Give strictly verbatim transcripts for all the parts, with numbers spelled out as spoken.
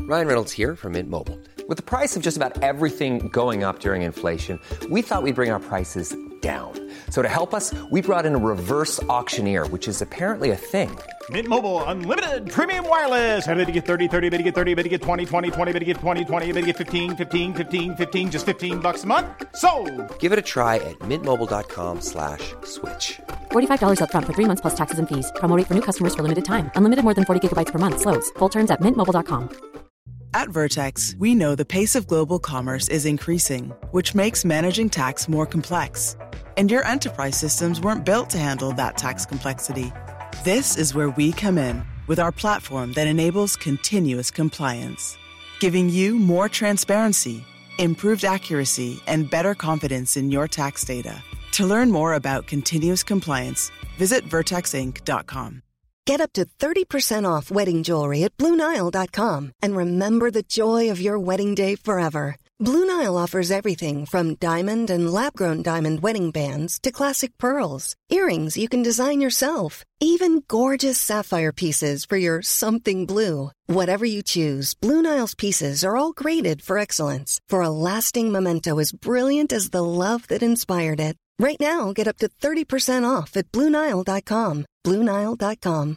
Ryan Reynolds here from Mint Mobile. With the price of just about everything going up during inflation, we thought we'd bring our prices down. So to help us, we brought in a reverse auctioneer, which is apparently a thing. Mint Mobile Unlimited Premium Wireless. How to get thirty, thirty, how to get thirty, how to get twenty, twenty, twenty, how to get twenty, twenty, how to get fifteen, fifteen, fifteen, fifteen, just fifteen bucks a month? Sold! Give it a try at mintmobile.com slash switch. forty-five dollars up front for three months plus taxes and fees. Promo rate for new customers for limited time. Unlimited more than forty gigabytes per month. Slows full terms at mint mobile dot com. At Vertex, we know the pace of global commerce is increasing, which makes managing tax more complex. And your enterprise systems weren't built to handle that tax complexity. This is where we come in with our platform that enables continuous compliance, giving you more transparency, improved accuracy, and better confidence in your tax data. To learn more about continuous compliance, visit vertex inc dot com. Get up to thirty percent off wedding jewelry at blue nile dot com and remember the joy of your wedding day forever. Blue Nile offers everything from diamond and lab-grown diamond wedding bands to classic pearls, earrings you can design yourself, even gorgeous sapphire pieces for your something blue. Whatever you choose, Blue Nile's pieces are all graded for excellence, for a lasting memento as brilliant as the love that inspired it. Right now, get up to thirty percent off at blue nile dot com. blue nile dot com.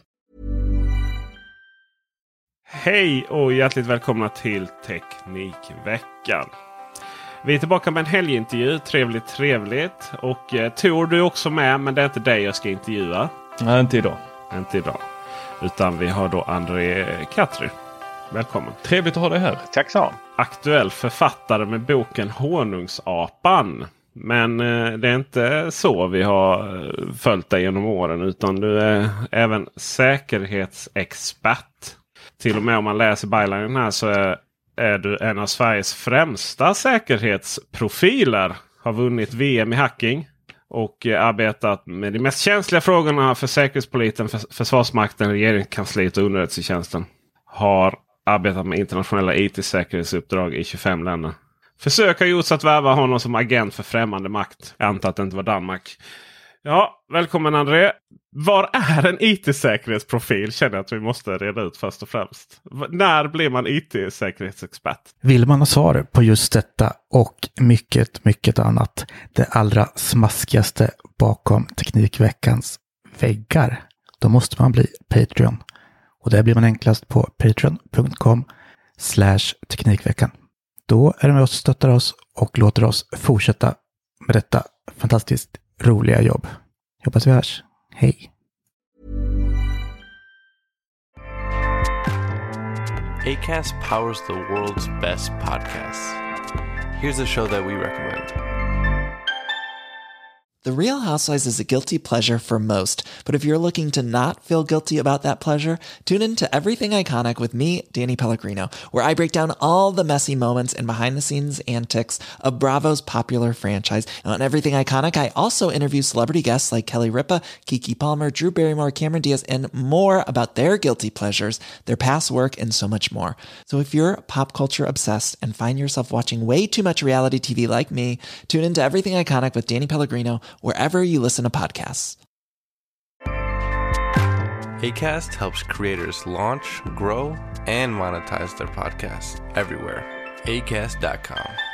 Hej och hjärtligt välkomna till Teknikveckan. Vi är tillbaka med en helgintervju. Trevligt, trevligt. Och eh, Tor, du är också med, men det är inte dig jag ska intervjua. Nej, inte idag. Inte idag. Utan vi har då André Katry. Välkommen. Trevligt att ha dig här. Tack så. Aktuell författare med boken Honungsapan. Men eh, det är inte så vi har följt dig genom åren, utan du är även säkerhetsexpert. Till och med om man läser bylinen här så är, är du en av Sveriges främsta säkerhetsprofiler. Har vunnit V M i hacking och eh, arbetat med de mest känsliga frågorna för Säkerhetspolisen, för, Försvarsmakten, Regeringskansliet och underrättelsetjänsten. Har arbetat med internationella I T-säkerhetsuppdrag i tjugofem länder. Försök har gjorts att värva honom som agent för främmande makt. Jag antar att det inte var Danmark. Ja, välkommen André. Var är en I T-säkerhetsprofil? Känner jag att vi måste reda ut först och främst. V- när blir man I T-säkerhetsexpert? Vill man ha svar på just detta och mycket, mycket annat, det allra smaskigaste bakom Teknikveckans väggar, då måste man bli Patreon. Och det blir man enklast på patreon punkt com slash teknikveckan. Då är det med oss, stöttar oss och låter oss fortsätta med detta fantastiskt roliga jobb. Jag hoppas vi hörs. Hej! Acast powers the world's best podcasts. Here's a show that we recommend. The Real Housewives is a guilty pleasure for most, but if you're looking to not feel guilty about that pleasure, tune in to Everything Iconic with me, Danny Pellegrino, where I break down all the messy moments and behind-the-scenes antics of Bravo's popular franchise. And on Everything Iconic, I also interview celebrity guests like Kelly Ripa, Keke Palmer, Drew Barrymore, Cameron Diaz, and more about their guilty pleasures, their past work, and so much more. So if you're pop culture obsessed and find yourself watching way too much reality T V like me, tune in to Everything Iconic with Danny Pellegrino, wherever you listen to podcasts. Acast helps creators launch, grow, and monetize their podcasts everywhere. acast dot com.